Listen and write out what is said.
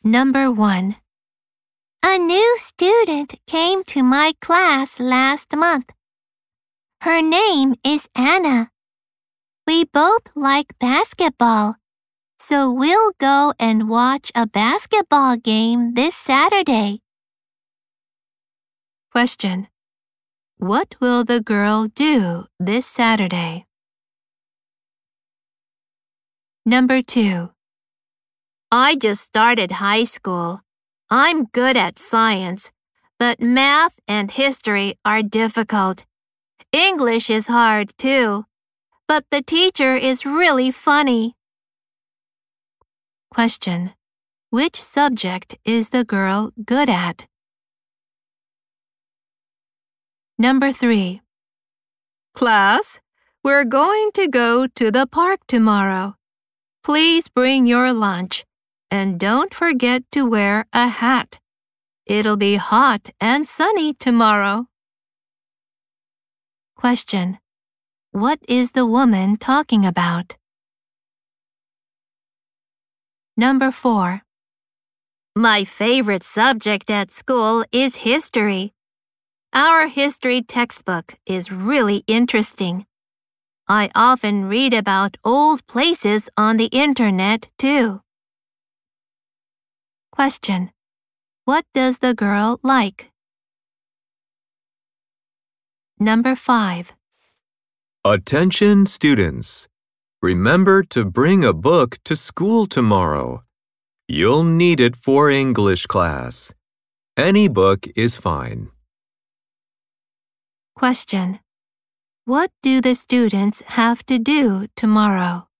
Number 1. A new student came to my class last month. Her name is Anna. We both like basketball, so we'll go and watch a basketball game this Saturday. Question. What will the girl do this Saturday? Number 2. I just started high school. I'm good at science, but math and history are difficult. English is hard too, but the teacher is really funny. Question. Which subject is the girl good at? Number 3. Class, we're going to go to the park tomorrow. Please bring your lunch, and don't forget to wear a hat. It'll be hot and sunny tomorrow. Question. What is the woman talking about? Number 4. My favorite subject at school is history. Our history textbook is really interesting. I often read about old places on the internet too. Question. What does the girl like? Number 5. Attention students. Remember to bring a book to school tomorrow. You'll need it for English class. Any book is fine. Question. What do the students have to do tomorrow?